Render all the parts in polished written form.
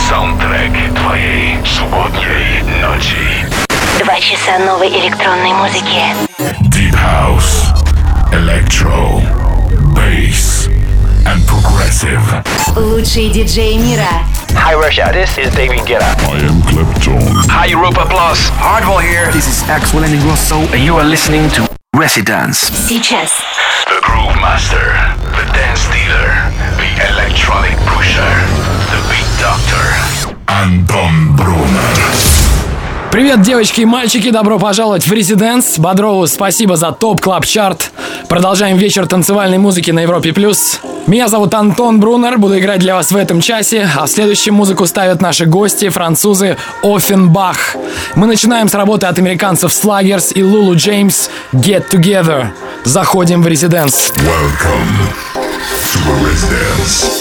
Саундтрек твоей субботней ночи. 2 часа новой электронной музыки. Deep House, Electro, Bass and Progressive. Лучшие диджеи мира. Hi Russia, this is David Guetta. I am Clapton. Hi Europa Plus. Hardwell here. This is Axel Ingrosso and you are listening to Residence. Сейчас. The Groove Master, the Dance Dealer, the Electronic Pusher, the Beat Doctor. Антон Брунер. Привет, девочки и мальчики, добро пожаловать в Residence. Бодрову спасибо за топ клаб чарт. Продолжаем вечер танцевальной музыки на Европе+. Меня зовут Антон Брунер, буду играть для вас в этом часе, а в следующем музыку ставят наши гости, французы Оффенбах. Мы начинаем с работы от американцев Sluggers и Lulu James Get Together. Заходим в Residence. Welcome to the Residence.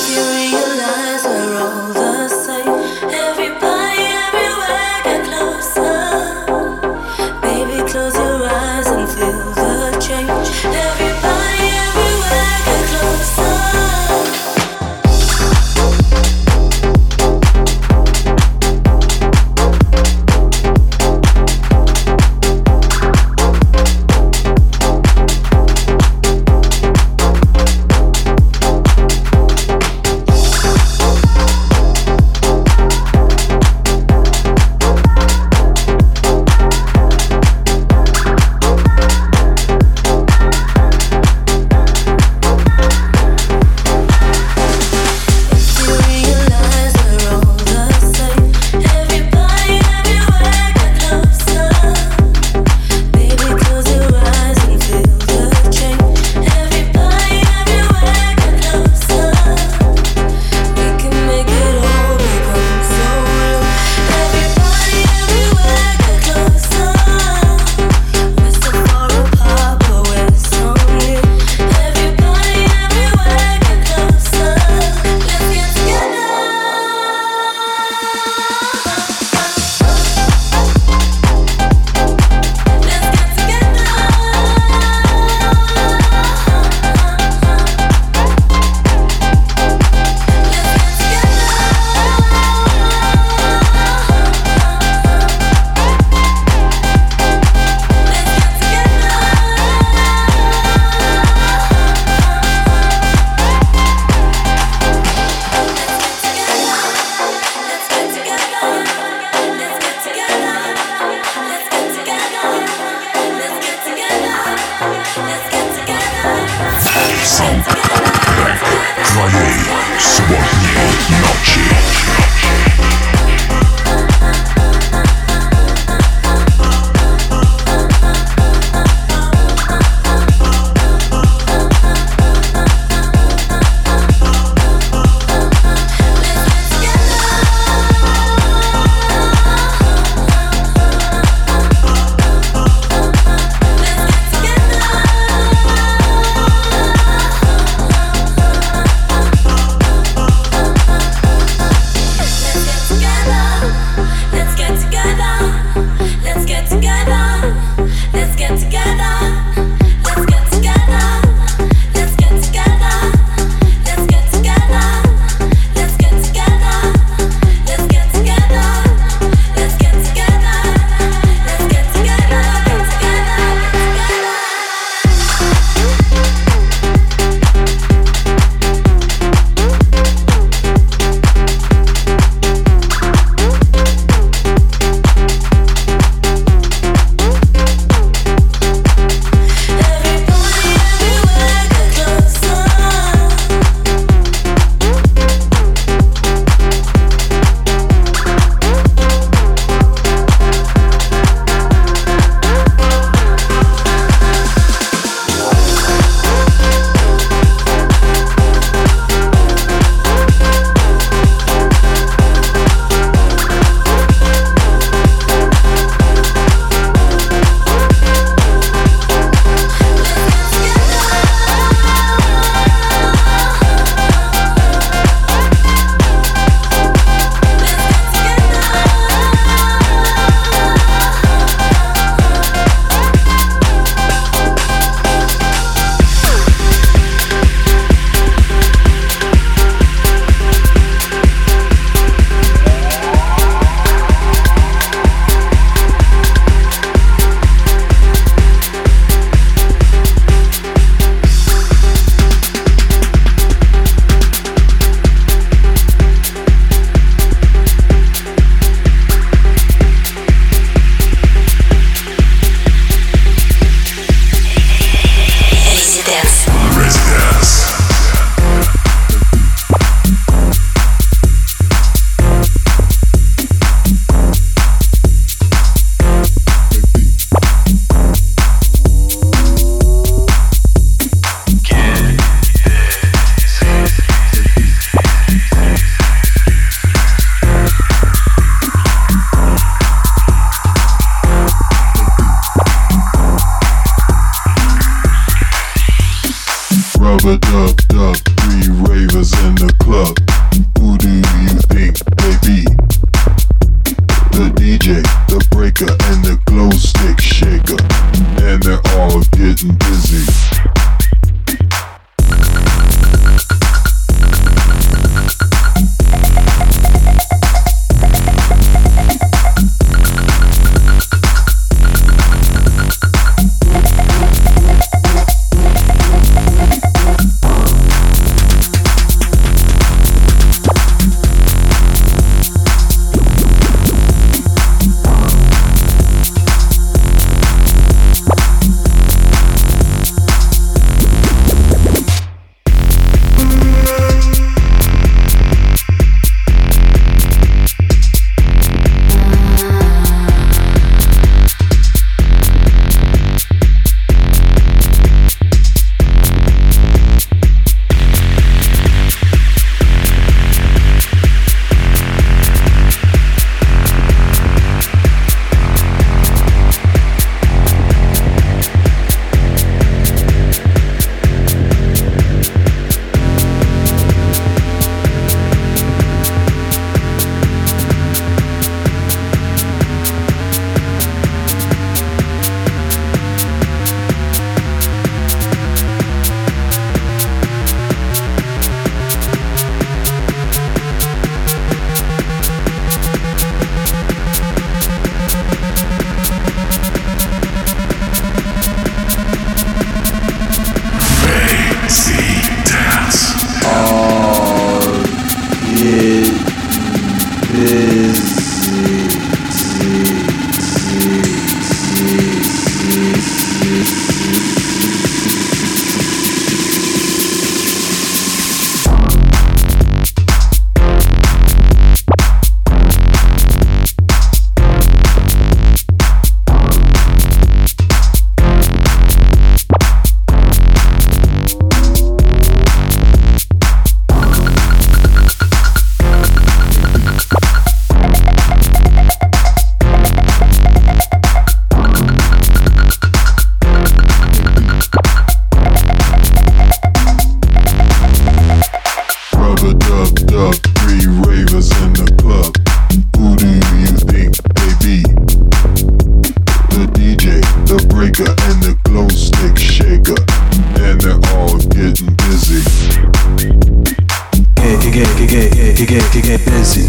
get busy.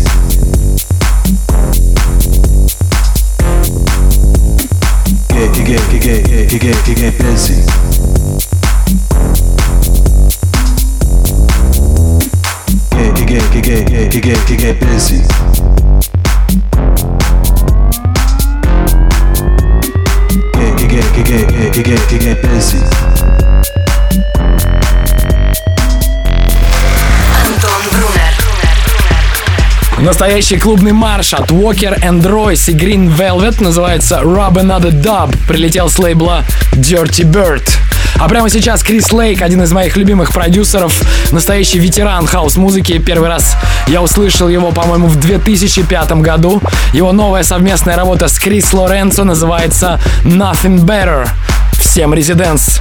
Get busy. Get busy. Get busy. Антон Брунер. Настоящий клубный марш от Walker and Royce и Green Velvet называется Rub Another Dub. Прилетел с лейбла Dirty Bird. А прямо сейчас Крис Лейк, один из моих любимых продюсеров, настоящий ветеран хаус-музыки. Первый раз я услышал его, по-моему, в 2005 году. Его новая совместная работа с Крис Лоренцо называется Nothing Better. Всем резиденс!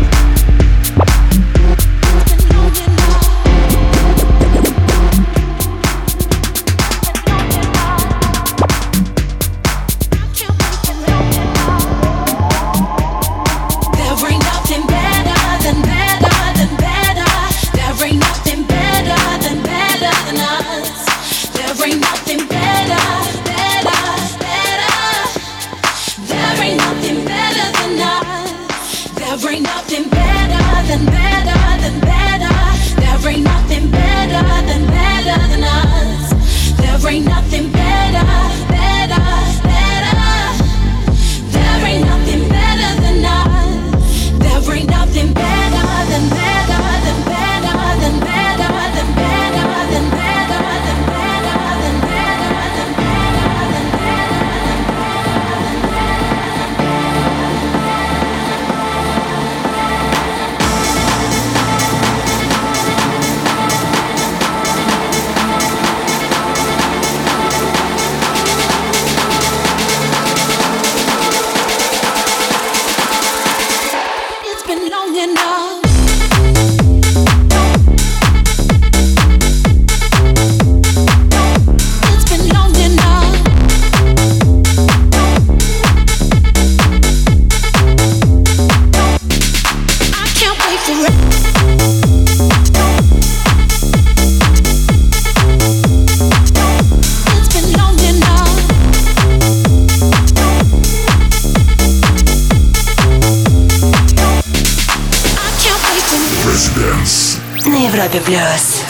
На Европе плюс.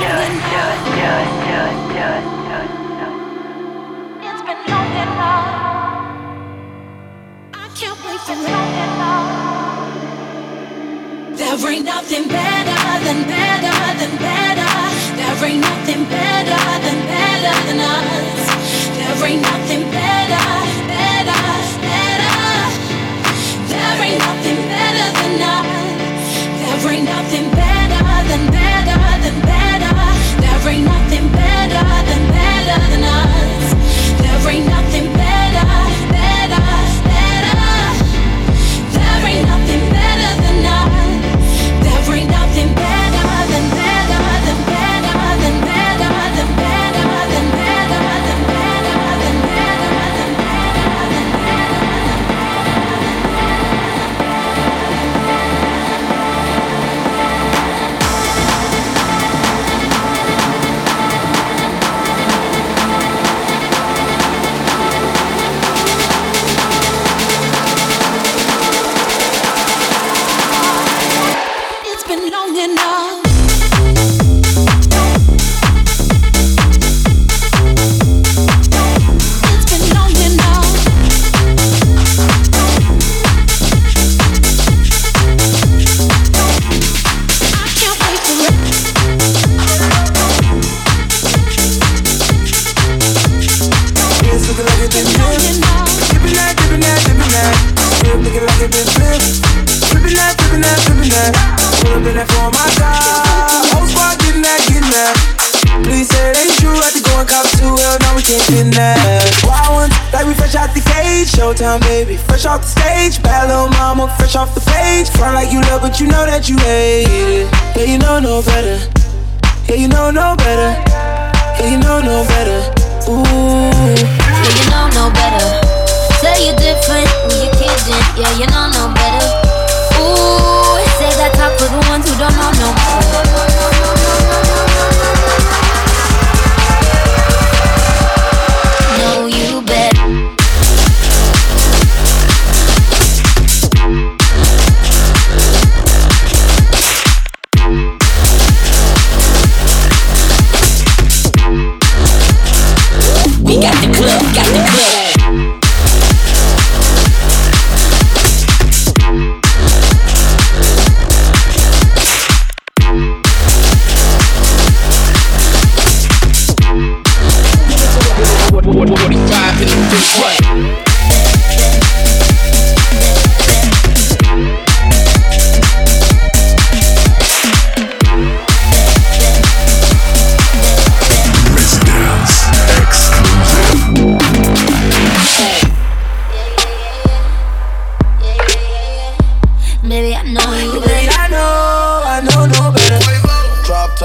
There ain't nothing better than better than better. There ain't nothing better than better than us. There ain't nothing better, better, better. There ain't nothing better than us. There ain't nothing better than better than better. There ain't nothing better than better than us. There ain't nothing better, better, better. There ain't nothing better than us. There ain't nothing better than better than better than better than better than better than better than better than It's been long enough. It's been long enough. I can't wait for it. It's looking like it's been flipped. Dipping that, dipping that, dipping that. Still looking like it's been flipped. Flipping that, flipping that, flipping that. Pull up in that for my God. Whole squad getting that, getting that. Please say it ain't true. Had to go and cop 2. Hell no, we can't get that. Wild ones, like we fresh out the cage. Showtime, baby, fresh off the stage. Bad little mama, fresh off the page. Front like you love, but you know that you hate it. Yeah, you know no better. Yeah, you know no better. Yeah, you know no better. Ooh. Yeah, you know no better. Say you're different when you're kidding. Yeah, you know no better. Ooh, say that talk for the ones who don't know no better.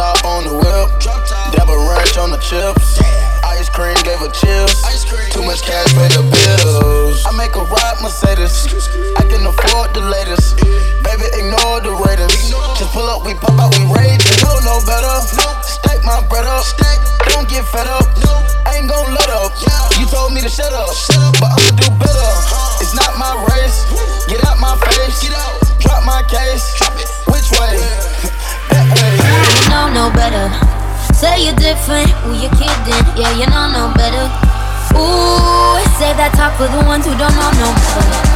top on the whip, dab a ranch on the chips. Ice cream gave her chills. Too much cash pay the bills. I make a ride Mercedes. I can afford the latest. Baby, ignore the ratings. Just pull up, we pop out, we rage. No better. Stack my bread up. Don't get fed up. I ain't gon' let up. You told me to shut up, but I'ma do better. It's not my race. Get out my face. Drop my case. Which way? That way. You know no better. Say you're different, who you kidding? Yeah, you know no better. Ooh, say that talk for the ones who don't know no better.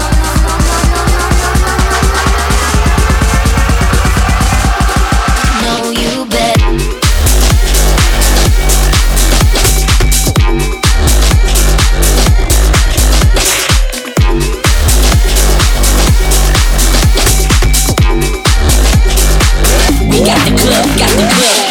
Know you better. We got the club, got the club.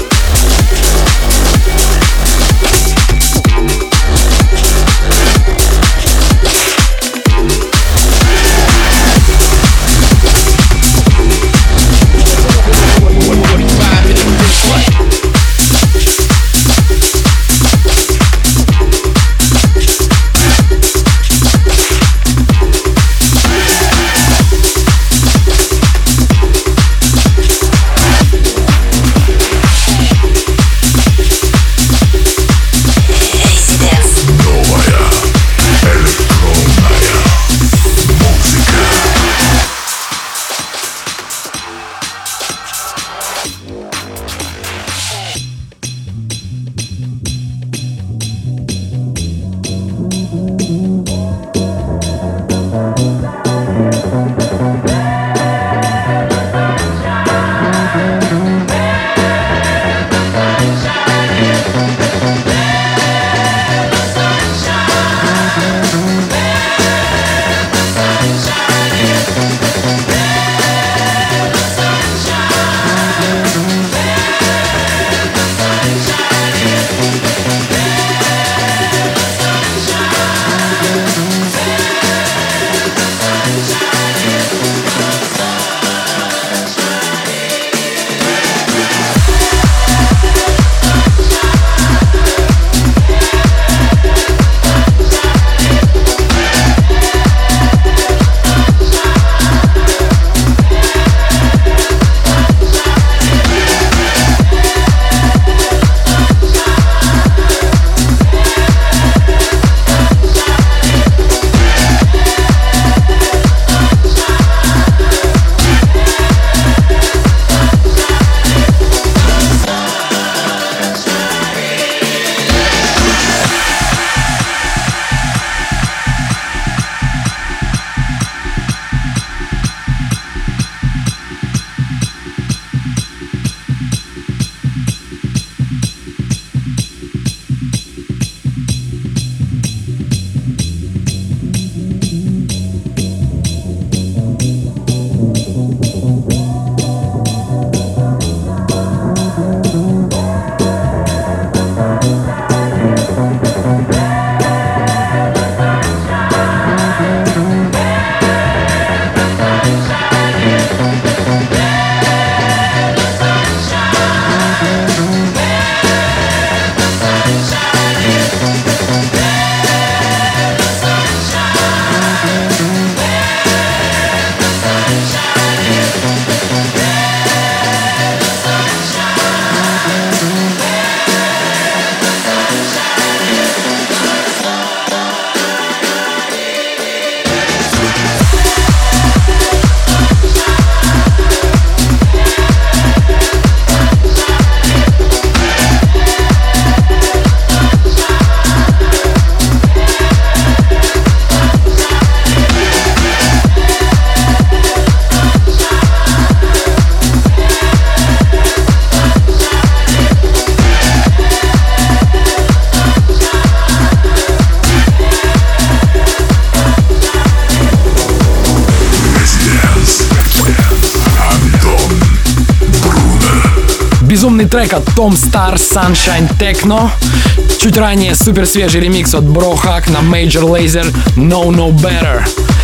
Безумный трек от Tom Star Sunshine Techno. Чуть ранее супер свежий ремикс от Bro Hack на Major Lazer No Better.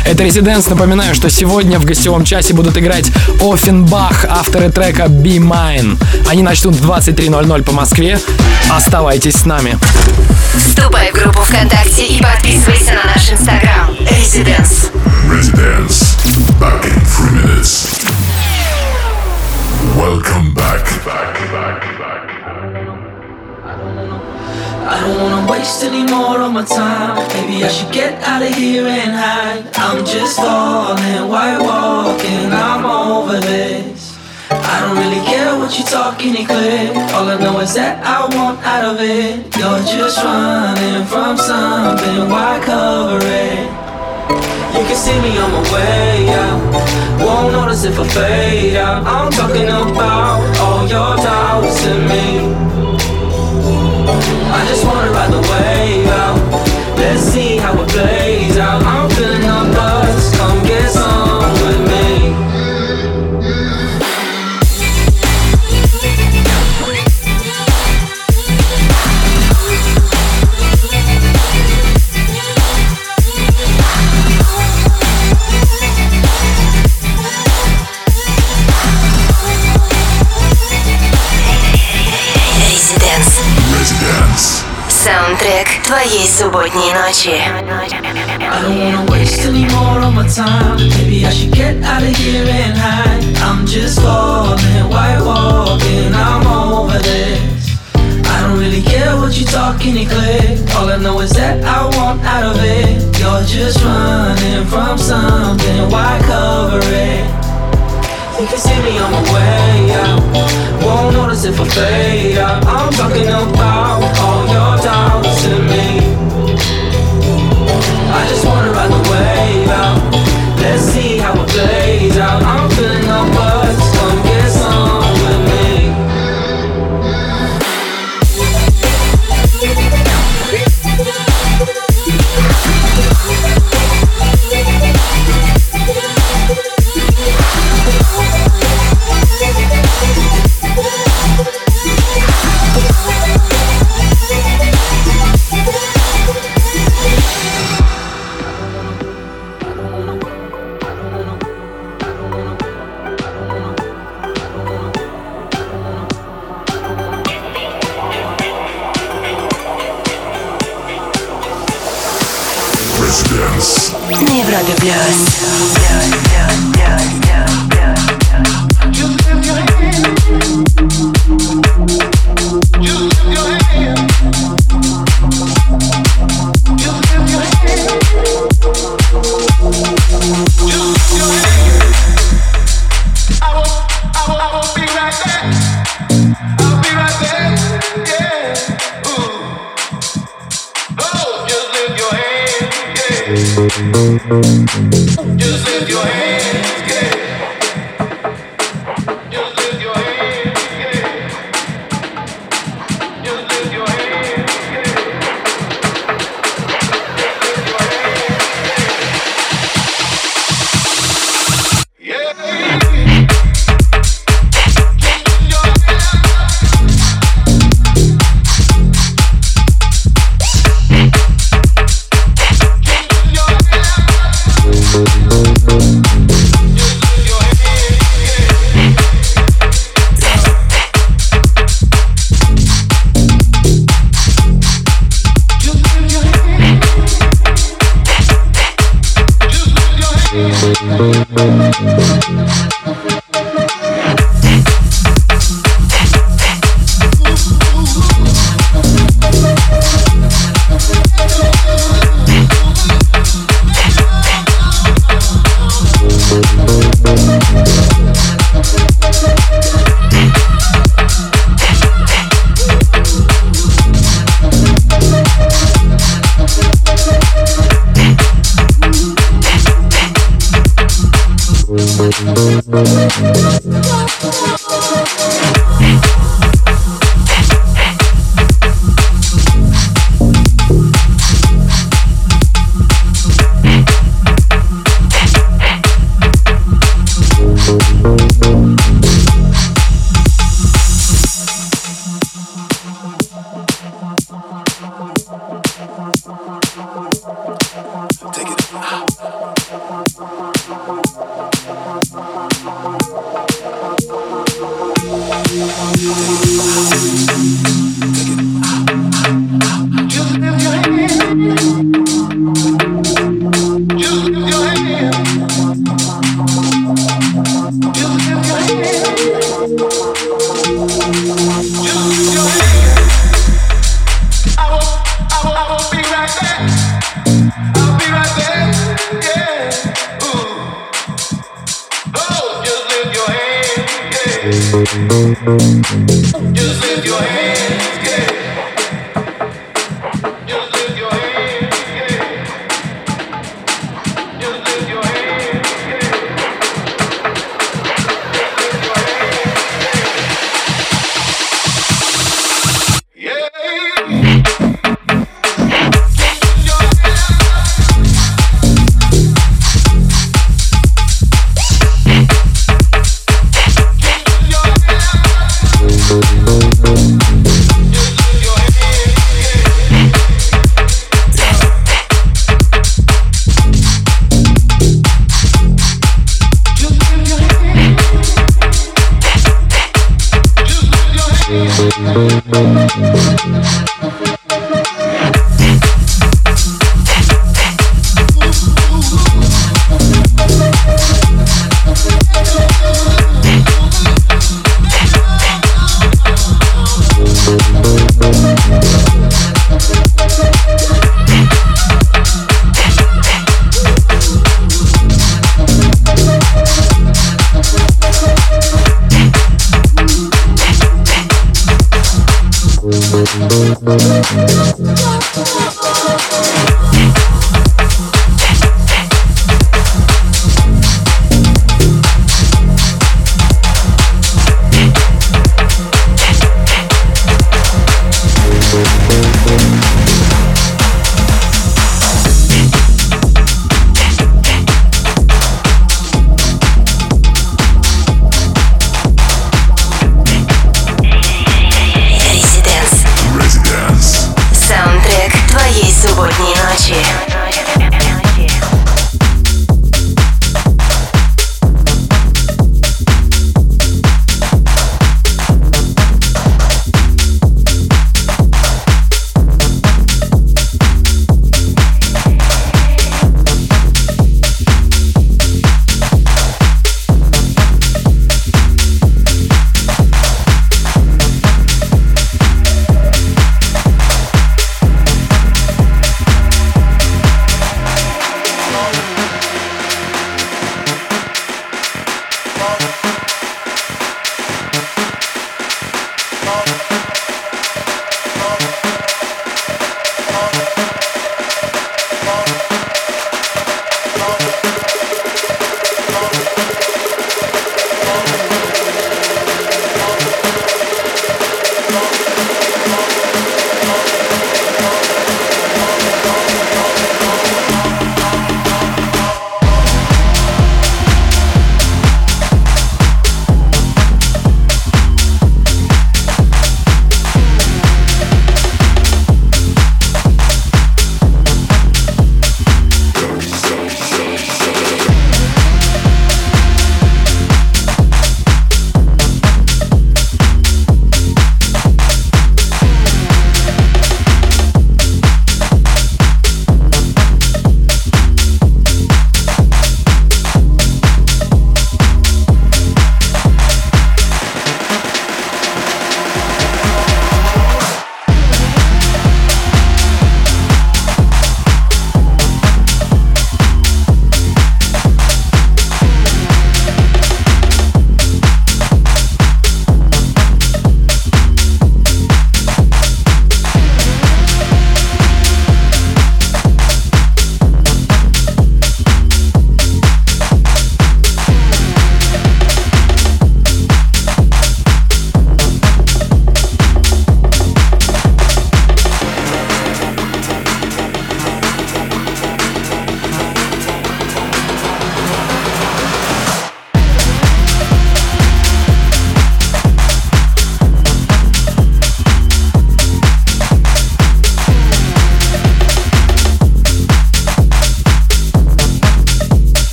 Это Residence. Напоминаю, что сегодня в гостевом часе будут играть Offenbach, авторы трека Be Mine. Они начнут в 23:00 по Москве. Оставайтесь с нами. Вступай в группу ВКонтакте и подписывайся на наш Инстаграм. Residence. Residence. Back in 3 minutes. Welcome back. I don't wanna waste any more of my time. Maybe I should get out of here and hide. I'm just falling, white walking, I'm over this. I don't really care what you're talking in clear. All I know is that I want out of it. You're just running from something, why cover it? You can see me on my way out. Won't notice if I fade out. I'm talking about all your doubts in me. I just wanna ride the wave out. Let's see how it plays out. I'm feeling the buzz. Come get some with me. Саундтрек твоей субботней ночи. I don't wanna waste any more of my time. Maybe I should get out of here and hide. I'm just falling, white walking, I'm over this. I don't really care what you're talking in clear. All I know is that I want out of it. You're just running from something, why cover it? You can see me on my way out. Won't notice if I fade out. I'm talking about all your doubts in me. I just wanna ride the wave out. Let's see how it plays out. I'm feeling the buzz. Come get some with me. На Европе Плюс. Just lift your hands, yeah. Just lift your hands, yeah. Just lift your hands, yeah. Just lift your hands, yeah. Take it.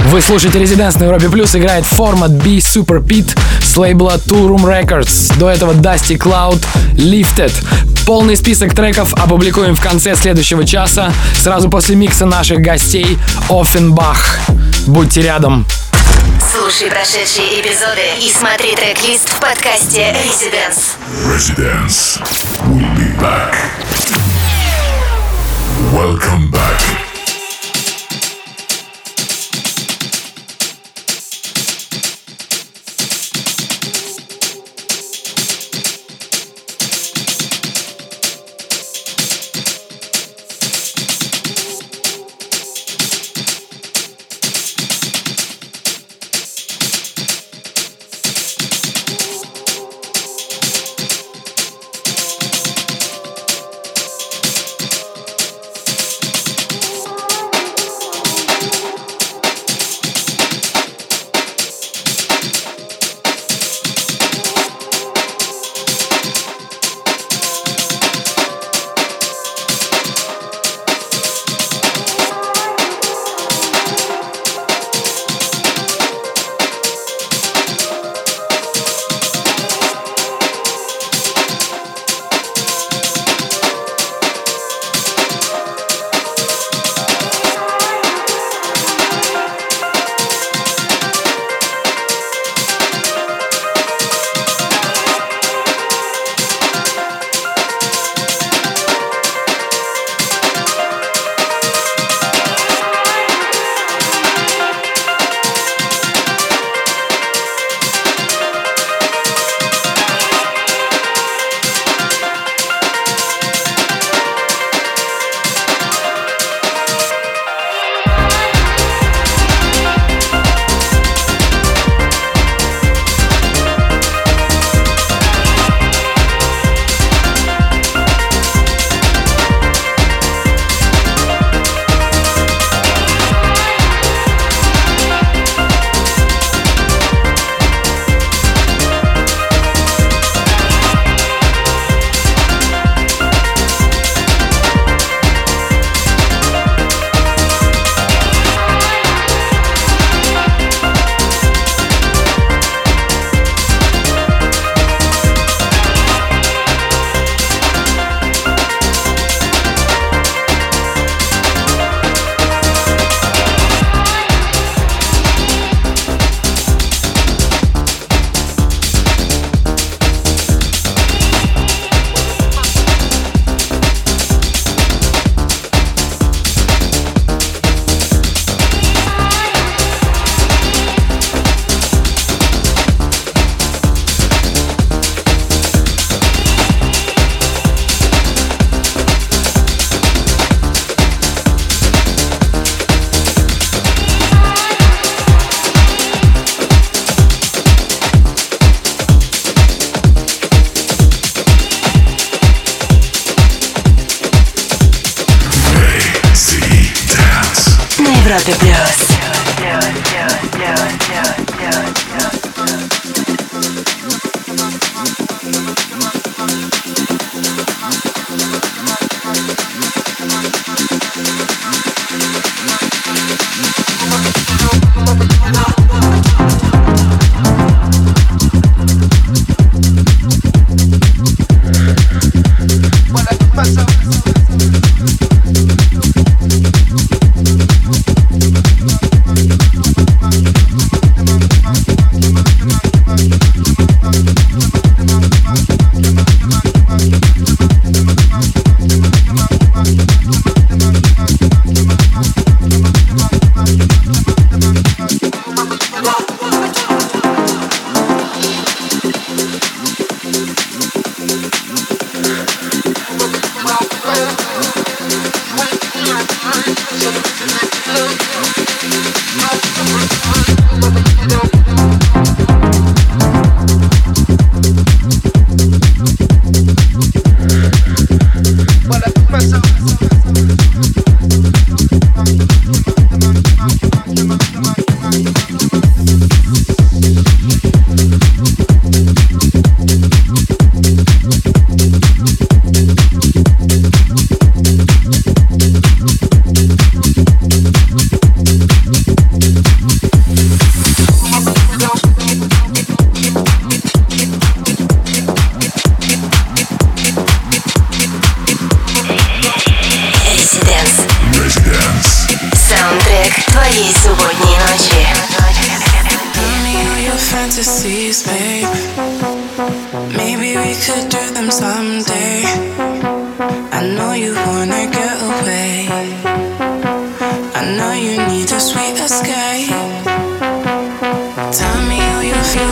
Вы слушаете Residence на Европе Плюс, играет формат B Super Pete с лейбла Two Room Records. До этого Dusty Cloud, Lifted. Полный список треков опубликуем в конце следующего часа, сразу после микса наших гостей Offenbach. Будьте рядом. Слушай прошедшие эпизоды и смотри трек-лист в подкасте Residence. Residence. We'll be back. Welcome back. Европе Плюс. fantasies, babe. Maybe we could do them someday. I know you wanna get away. I know you need a sweet escape. Tell me how you feel.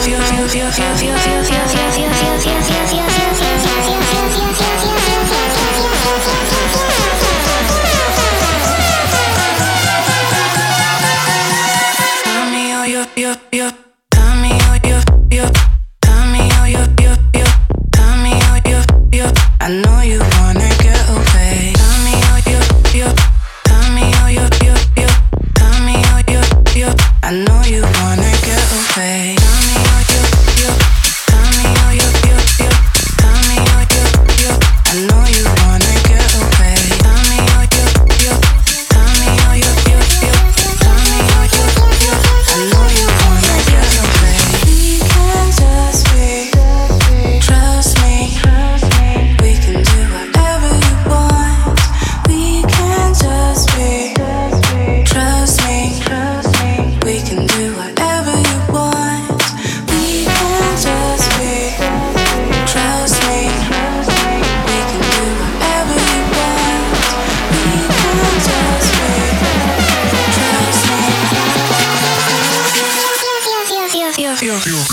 I know you wanna get away. Tell me how you. Tell me how you. Tell me how you. I know you wanna get away. Tell me how you. Tell me how you. Tell me how you. I know you wanna get away. Tell me how you. Tell me how you. Tell me how you. I know you wanna get away. We can just be. Trust me. We can do whatever you want. We can just be. Trust me. We can do whatever you want. We can just be. Trust me. We can do whatever you want. We can just be. Trust me.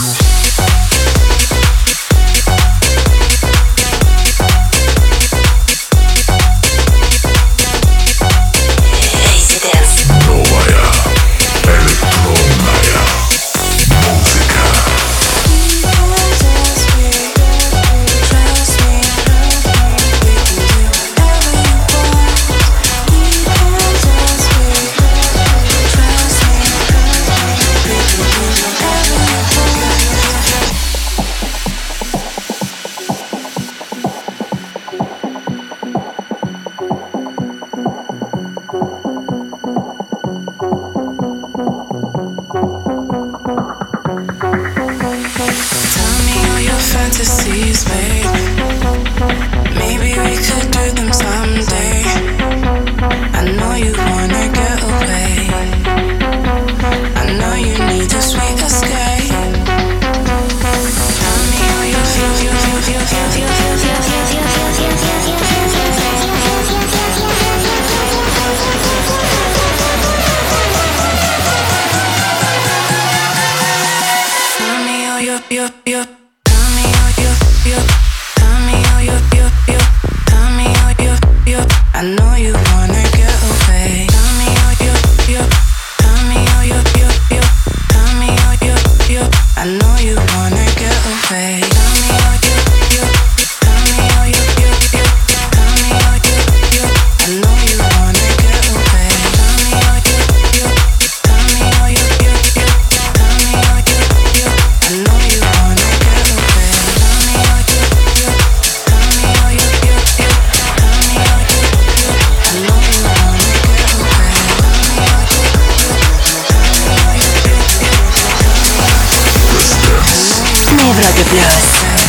Новая электронная музыка. Tell me all your fantasies, babe. Maybe we could do them someday. I know you wanna get away. I know you need a sweet escape. Tell me how you feel. Tell me how you. Tell me how you. Tell me how you. Tell me how you. I know you wanna get away. Tell me how you. Tell me how you. Tell me how you. I know you wanna get away. Tell me how you. Tell me how you. Tell me how you. I know you wanna get away. Tell me how you. Tell me how you. Tell me how you. I know you wanna get away. Tell me how you. Tell me how you. Tell me how you. I know you wanna get away. Tell me how you. На Европе плюс.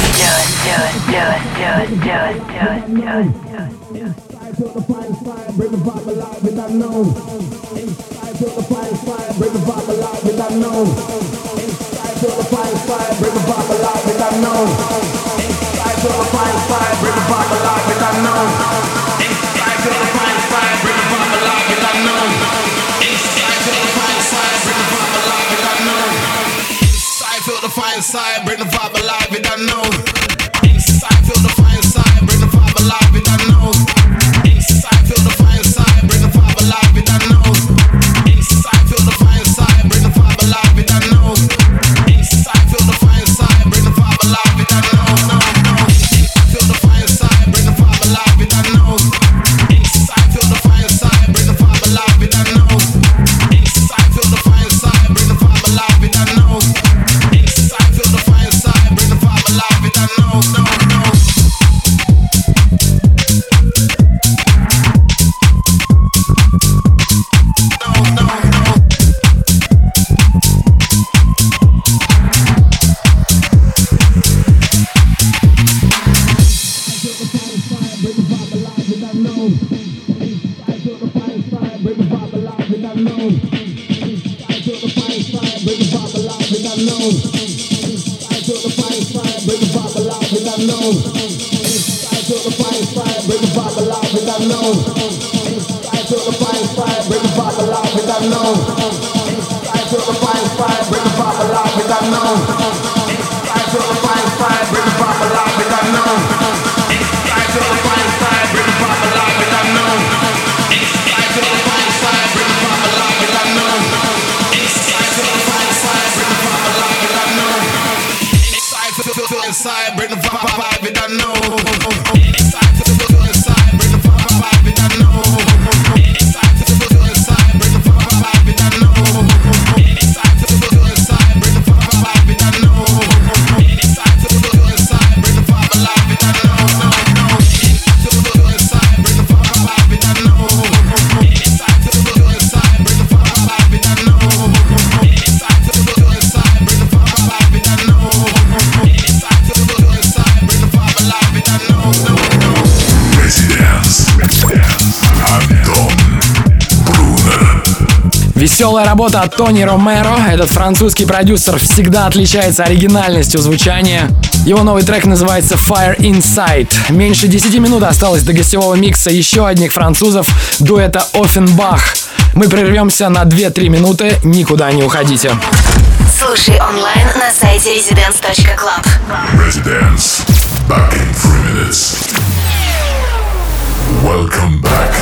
Feel the fire inside, bring the vibe alive, you don't know. Inside, feel the fire inside, bring the vibe alive, you don't know. Inside, feel the fire inside, bring the vibe alive, you don't know. Inside, feel the fire inside, bring the vibe alive, you don't know. Inside, feel the fire inside, bring the vibe alive, you don't know. Feel the fire inside, bring the vibe alive, you don't know. Inside, feel the fire inside, bring the vibe alive, you don't know. Inside, feel the fire inside, bring the vibe alive, you don't know. Inside, feel the fire inside, bring the vibe alive, you don't know. Inside, bring the vibe, it I know. Inside, bring the vibe, it I know. Inside, bring the vibe, it I know. Inside, bring the vibe, it I know. Inside, bring the vibe, it I know. Inside, bring the vibe, it I know. Inside, bring the vibe, it I know. Inside, bring the vibe, it I know. Веселая работа от Тони Ромеро. Этот французский продюсер всегда отличается оригинальностью звучания. Его новый трек называется Fire Inside. Меньше 10 минут осталось до гостевого микса еще одних французов, дуэта Оффенбах. Мы прервемся на 2-3 минуты, никуда не уходите. Слушай онлайн на сайте residence.club. Residence. Back in 3 minutes. Welcome back.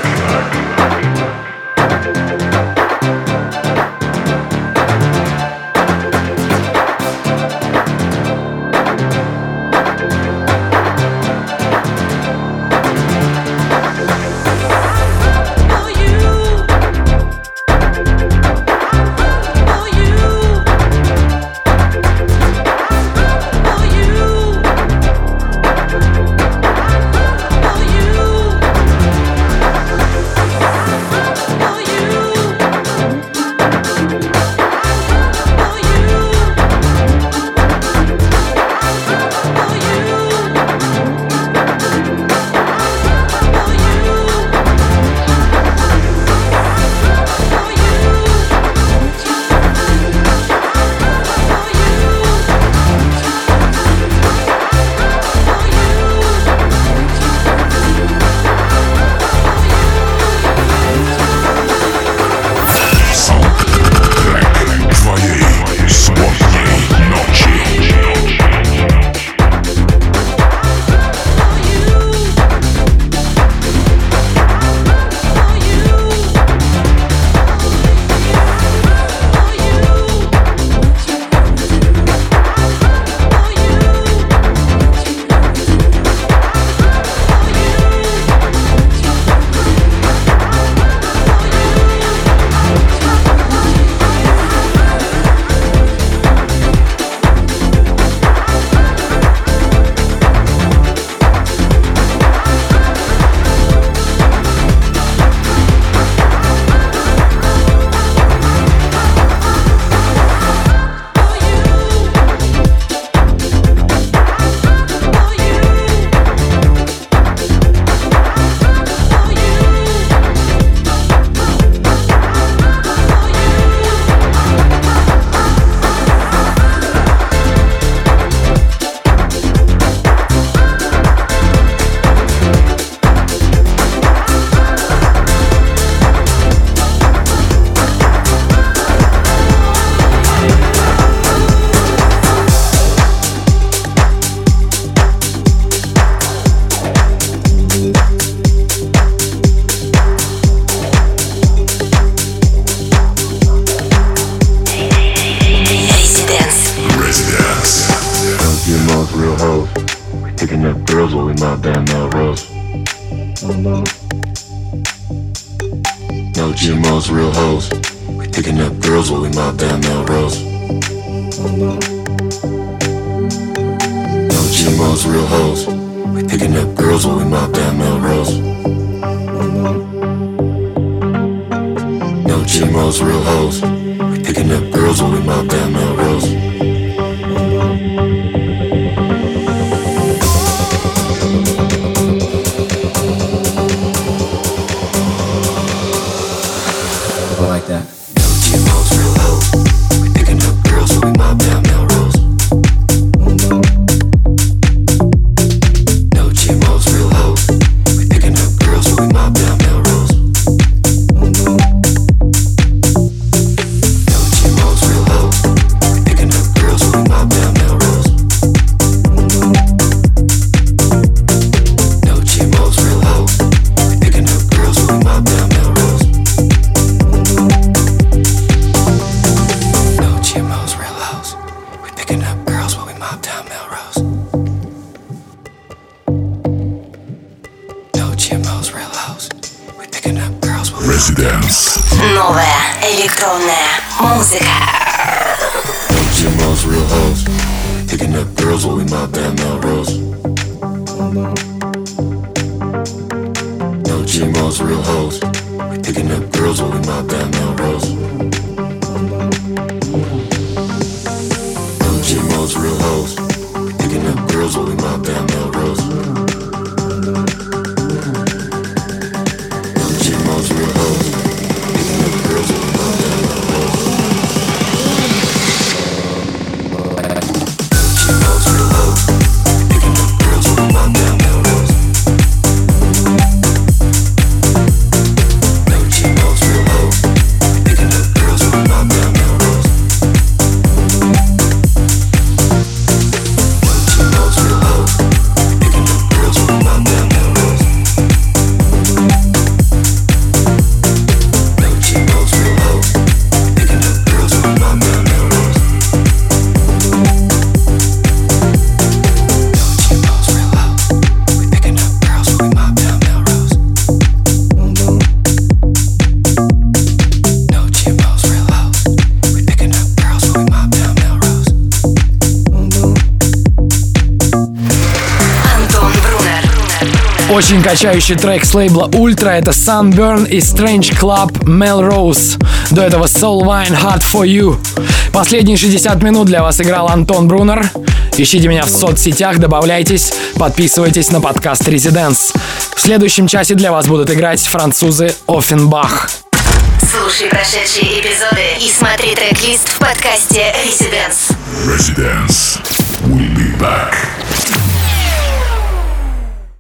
No GMOs, real hoes. We picking up girls while we mob down Melrose. No GMOs, real hoes. We picking up girls while we mob down Melrose. No GMOs, real hoes. We picking up girls while we mob down Melrose. Like that. No GMOs, real hoes. We picking up girls while we mob down Melrose. Residence. Новая электронная музыка. GMO's real hoes. Picking up girls while we mob down Melrose. No GMO's real hoes. We picking up girls while we mob down Melrose. No GMO's real hoes. We picking up girls while we mob down Melrose. No GMO's real hoes. Picking up girls while we mob down Melrose. GMO's real hoes. Picking up girls while we mob down Melrose. No GMO's real hoes. Picking up girls while we mob down Melrose. No GMO's real hoes. Picking up girls while we mob down Melrose. No GMO's real hoes. Picking up girls while we mob down Melrose. Антон Брунер. Очень качающий трек с лейбла Ultra — это Sunburn и Strange Club Melrose. До этого Soul Wine Hard For You. Последние 60 минут для вас играл Антон Брунер. Ищите меня в соцсетях, добавляйтесь, подписывайтесь на подкаст Residence. В следующем часе для вас будут играть французы Offenbach. Слушай прошедшие эпизоды и смотри трек-лист в подкасте Residence. Residence. We'll be back.